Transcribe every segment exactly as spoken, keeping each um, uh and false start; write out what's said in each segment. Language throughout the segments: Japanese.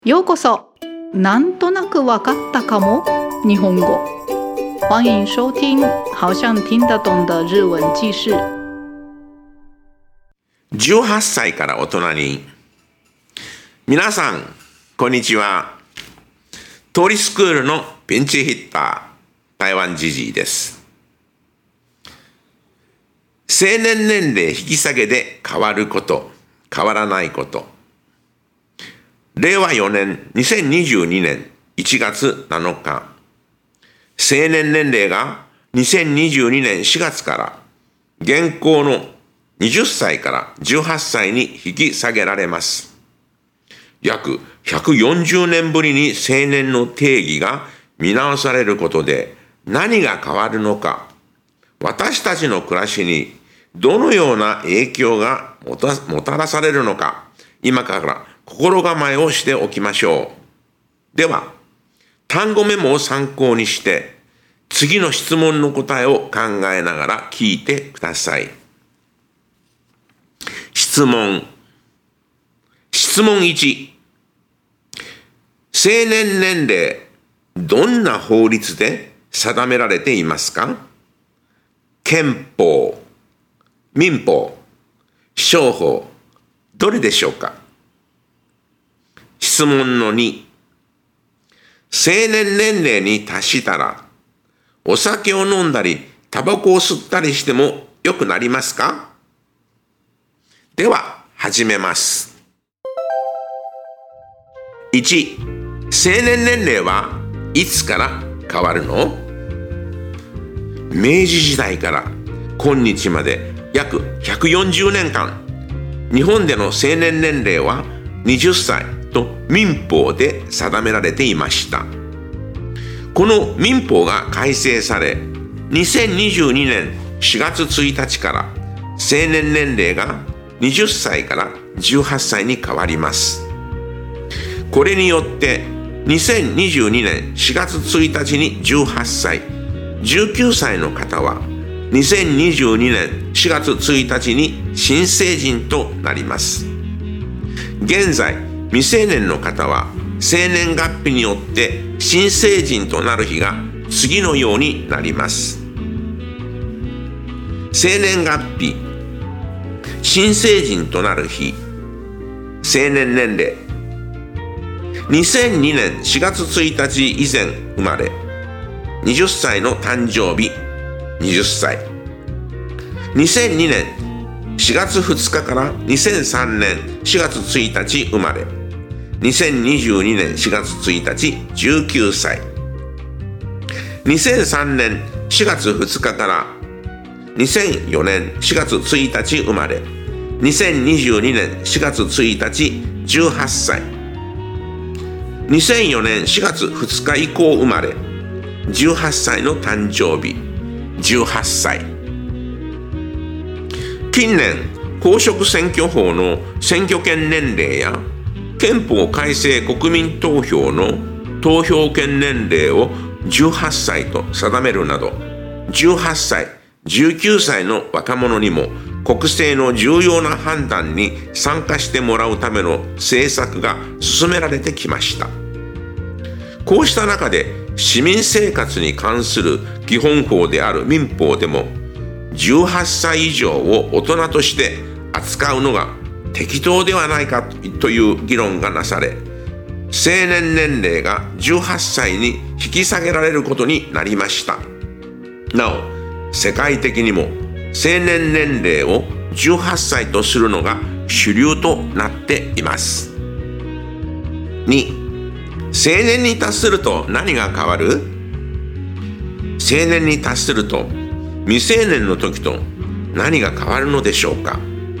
ようこそ。なんとなくわかったかも日本語。欢迎收听好像听得懂的日文記事。 じゅうはっさいから大人に。皆さん、こんにちは。通りスクールのピンチヒッター、台湾ジジイです。成年年齢引き下げで変わること、変わらないこと。れいわよねんにせんにじゅうにねんいちがつなのか、成年年齢がにせんにじゅうにねんしがつから現行のはたちからじゅうはっさいに引き下げられます。約ひゃくよんじゅうねんぶりに成年の定義が見直されることで何が変わるのか、私たちの暮らしにどのような影響がもた、もたらされるのか、今から心構えをしておきましょう。では、単語メモを参考にして、次の質問の答えを考えながら聞いてください。質問。質問いち。成年年齢、どんな法律で定められていますか？憲法、民法、商法、どれでしょうか？質問のに。成年年齢に達したら、お酒を飲んだり、タバコを吸ったりしてもよくなりますか？では、始めます。いち. 成年年齢はいつから変わるの？明治時代から今日まで約ひゃくよんじゅうねんかん、日本での成年年齢ははたちと民法で定められていました。この民法が改正され、にせんにじゅうにねんしがつついたちから成年年齢がはたちからじゅうはっさいに変わります。これによってにせんにじゅうにねんしがつついたちにじゅうはっさい、じゅうきゅうさいの方はにせんにじゅうにねんしがつついたちに新成人となります。現在、未成年の方は生年月日によって新成人となる日が次のようになります。生年月日、新成人となる日、成年年齢。にせんにねんしがつついたち以前生まれ、はたちの誕生日、はたち。にせんにねんしがつふつかからにせんさんねんしがつついたち生まれ、にせんにじゅうにねんしがつついたちじゅうきゅうさい。にせんさんねんしがつふつかからにせんよねんしがつついたち生まれ、にせんにじゅうにねんしがつついたちじゅうはっさい。にせんよねんしがつふつか以降生まれ、じゅうはっさいの誕生日、じゅうはっさい。近年、公職選挙法の選挙権年齢や憲法改正国民投票の投票権年齢をじゅうはっさいと定めるなど、じゅうはっさい、じゅうきゅうさいの若者にも国政の重要な判断に参加してもらうための政策が進められてきました。こうした中で市民生活に関する基本法である民法でもじゅうはっさい以上を大人として扱うのが適当ではないかという議論がなされ、成年年齢がじゅうはっさいに引き下げられることになりました。なお、世界的にも成年年齢をじゅうはっさいとするのが主流となっています。に. 成年に達すると何が変わる？成年に達すると未成年の時と何が変わるのでしょうか？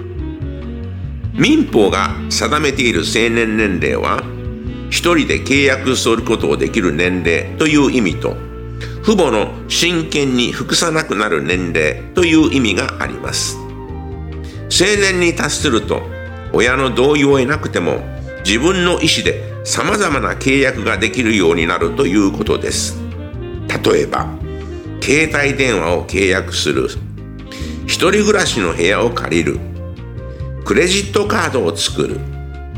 民法が定めている成年年齢は、一人で契約することをできる年齢という意味と、父母の親権に服さなくなる年齢という意味があります。成年に達すると、親の同意を得なくても、自分の意思で様々な契約ができるようになるということです。例えば、携帯電話を契約する、一人暮らしの部屋を借りる、クレジットカードを作る、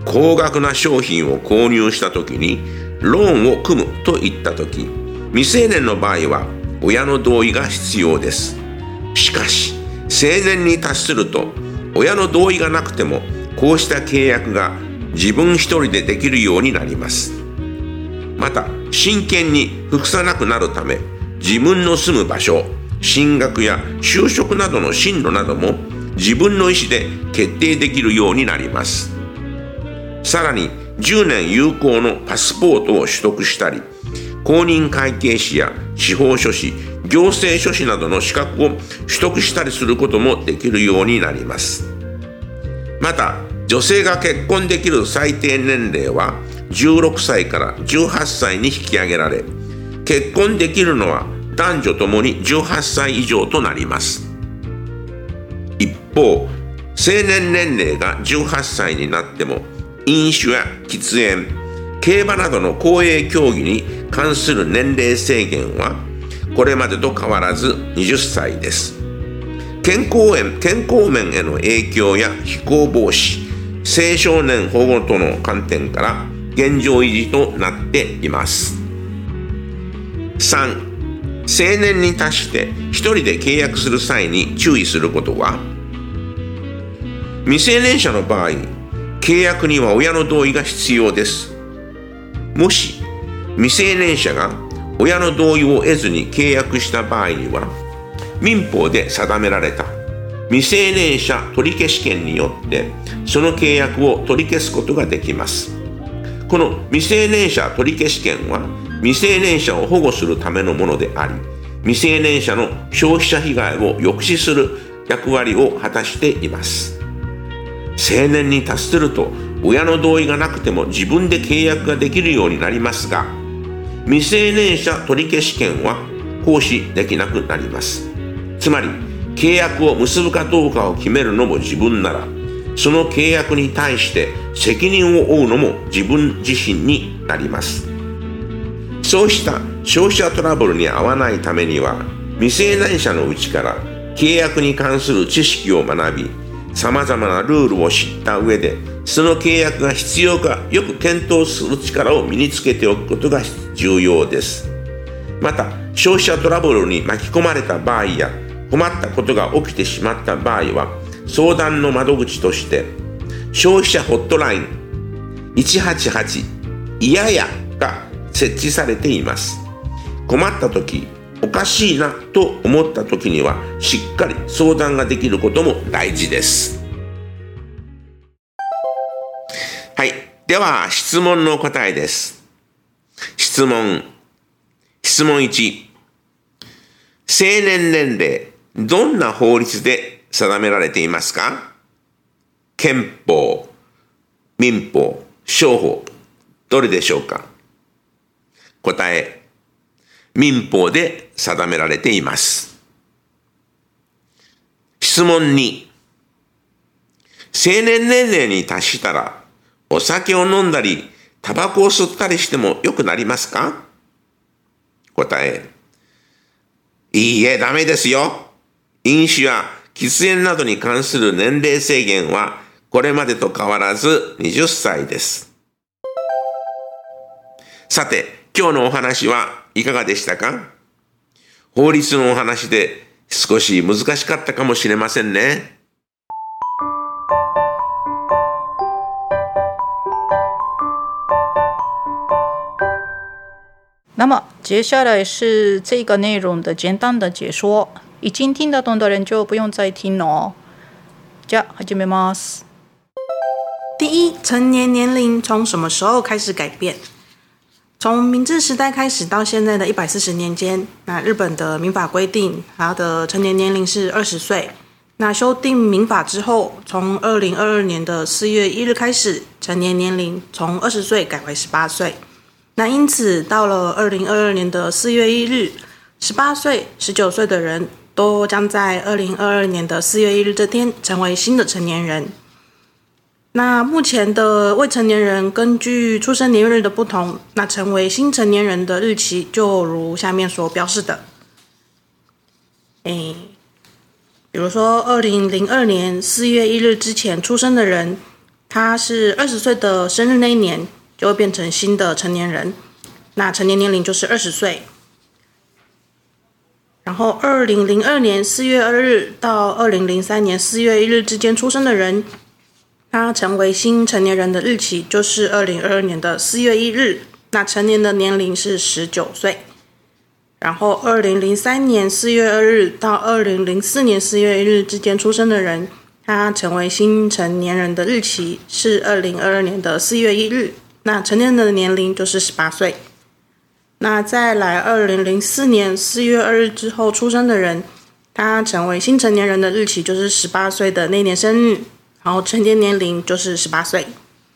高額な商品を購入したときにローンを組むといったとき、未成年の場合は親の同意が必要です。しかし、成年に達すると親の同意がなくてもこうした契約が自分一人でできるようになります。また、親権に服さなくなるため、自分の住む場所、進学や就職などの進路なども自分の意思で決定できるようになります。さらに、じゅうねん有効のパスポートを取得したり、公認会計士や司法書士、行政書士などの資格を取得したりすることもできるようになります。また、女性が結婚できる最低年齢はじゅうろくさいからじゅうはっさいに引き上げられ、結婚できるのは男女ともにじゅうはっさい以上となります。一方、成年年齢がじゅうはっさいになっても、飲酒や喫煙、競馬などの公営競技に関する年齢制限はこれまでと変わらずはたちです。健康面、健康面への影響や非行防止、青少年保護との観点から現状維持となっています。さん、成年に達して一人で契約する際に注意することは、未成年者の場合、契約には親の同意が必要です。もし未成年者が親の同意を得ずに契約した場合には、民法で定められた未成年者取消権によってその契約を取り消すことができます。この未成年者取消権は未成年者を保護するためのものであり、未成年者の消費者被害を抑止する役割を果たしています。成年に達すると親の同意がなくても自分で契約ができるようになりますが、未成年者取消権は行使できなくなります。つまり、契約を結ぶかどうかを決めるのも自分なら、その契約に対して責任を負うのも自分自身になります。そうした消費者トラブルに遭わないためには、未成年者のうちから契約に関する知識を学び、さまざまなルールを知った上で、その契約が必要かよく検討する力を身につけておくことが重要です。また、消費者トラブルに巻き込まれた場合や困ったことが起きてしまった場合は、相談の窓口として消費者ホットラインいちはちはちいややが設置されています。困った時、おかしいなと思った時にはしっかり相談ができることも大事です。はい、では質問の答えです。質問質問いち、成年年齢、どんな法律で定められていますか？憲法、民法、商法、どれでしょうか？答え、民法で定められています。質問に、成年年齢に達したらお酒を飲んだりタバコを吸ったりしてもよくなりますか？答え、いいえ、ダメですよ。飲酒や喫煙などに関する年齢制限はこれまでと変わらずはたちです。さて、今日のお話はいかがでしたか？法律のお話で少し難しかったかもしれませんね。 那么接下来是这个内容的简单的解说，已经听得懂的人就不用再听了哦。じゃあ始めます。 第一，成年年龄从什么时候开始改变？从明治时代开始到现在的一百四十年间，那日本的民法规定，它的成年年龄是二十岁。那修订民法之后，从二零二二年的四月一日开始，成年年龄从二十岁改为十八岁。那因此，到了二零二二年的四月一日，十八岁、十九岁的人都将在二零二二年的四月一日这天成为新的成年人。那目前的未成年人根据出生年月日的不同，那成为新成年人的日期就如下面所标示的。诶，比如说二零零二年四月一日之前出生的人， 他是二十岁的生日那一年就会变成新的成年人，那成年年龄就是二十岁。然后二零零二年四月二日到二零零三年四月一日之间出生的人，他成为新成年人的日期就是二零二二年的四月一日，那成年的年龄是十九岁。然后二零零三年四月二日到二零零四年四月一日之间出生的人，他成为新成年人的日期是二零二二年的四月一日，那成年的年龄就是十八岁。那再来二零零四年四月二日之后出生的人，他成为新成年人的日期就是十八岁的那年生日，然后成年年龄就是十八岁。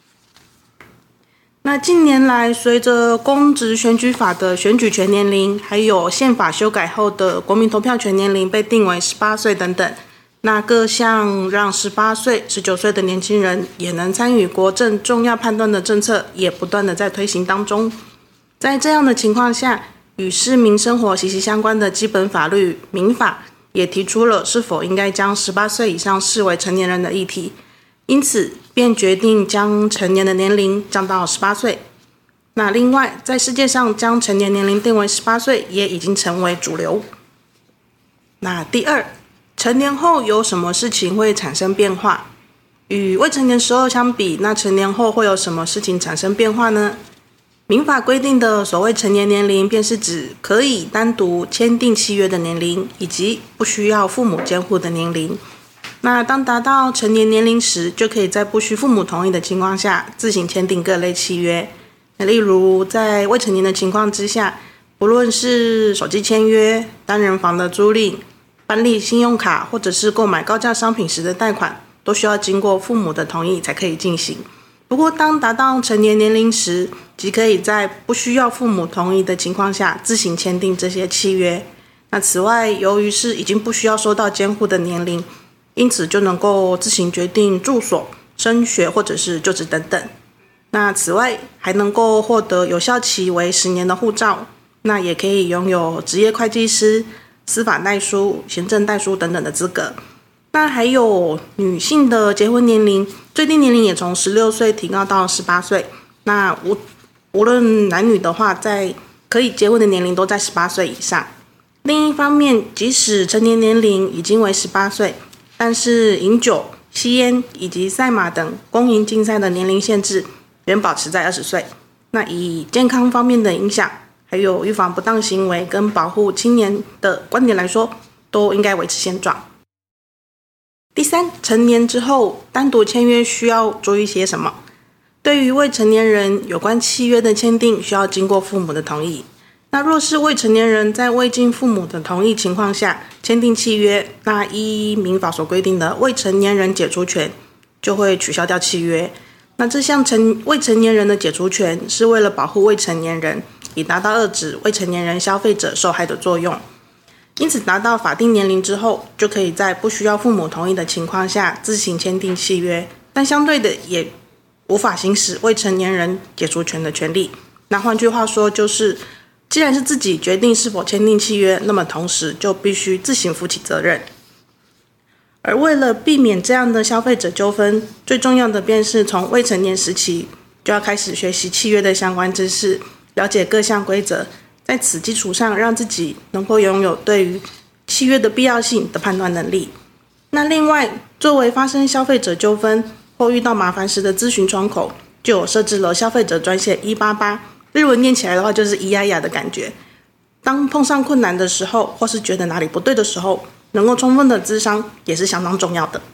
那近年来随着公职选举法的选举权年龄，还有宪法修改后的国民投票权年龄被定为十八岁等等，那各项让十八岁、十九岁的年轻人也能参与国政重要判断的政策也不断的在推行当中。在这样的情况下，与市民生活息息相关的基本法律民法也提出了是否应该将十八岁以上视为成年人的议题，因此便决定将成年的年龄降到十八岁。那另外，在世界上将成年年龄定为十八岁也已经成为主流。那第二，成年后有什么事情会产生变化？与未成年时候相比，那成年后会有什么事情产生变化呢？民法规定的所谓成年年龄，便是指可以单独签订契约的年龄，以及不需要父母监护的年龄。那当达到成年年龄时，就可以在不需父母同意的情况下，自行签订各类契约。那例如，在未成年的情况之下，不论是手机签约、单人房的租赁、办理信用卡，或者是购买高价商品时的贷款，都需要经过父母的同意才可以进行。不过，当达到成年年龄时，即可以在不需要父母同意的情况下自行签订这些契约。那此外，由于是已经不需要受到监护的年龄，因此就能够自行决定住所、升学或者是就职等等。那此外，还能够获得有效期为十年的护照，那也可以拥有职业会计师、司法代书、行政代书等等的资格。那还有女性的结婚年龄，最低年龄也从十六岁提高到十八岁。那无无论男女的话，在可以结婚的年龄都在十八岁以上。另一方面，即使成年年龄已经为十八岁，但是饮酒、吸烟以及赛马等公营竞赛的年龄限制仍保持在二十岁。那以健康方面的影响，还有预防不当行为跟保护青年的观点来说，都应该维持现状。第三，成年之后单独签约需要注意些什么？对于未成年人，有关契约的签订需要经过父母的同意。那若是未成年人在未经父母的同意情况下签订契约，那依民法所规定的未成年人解除权就会取消掉契约。那这项成未成年人的解除权是为了保护未成年人，以达到遏止未成年人消费者受害的作用。因此，达到法定年龄之后，就可以在不需要父母同意的情况下自行签订契约，但相对的也无法行使未成年人解除权的权利。那换句话说，就是既然是自己决定是否签订契约，那么同时就必须自行负起责任。而为了避免这样的消费者纠纷，最重要的便是从未成年时期就要开始学习契约的相关知识，了解各项规则，在此基础上让自己能够拥有对于契约的必要性的判断能力。那另外，作为发生消费者纠纷或遇到麻烦时的咨询窗口，就有设置了消费者专线一八八，日文念起来的话就是咿呀呀的感觉。当碰上困难的时候，或是觉得哪里不对的时候，能够充分的咨商也是相当重要的。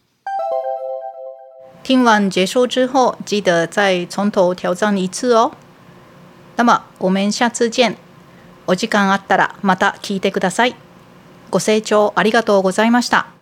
听完结束之后，记得再从头挑战一次哦。那么我们下次见。お時間あったらまた聞いてください。ご清聴ありがとうございました。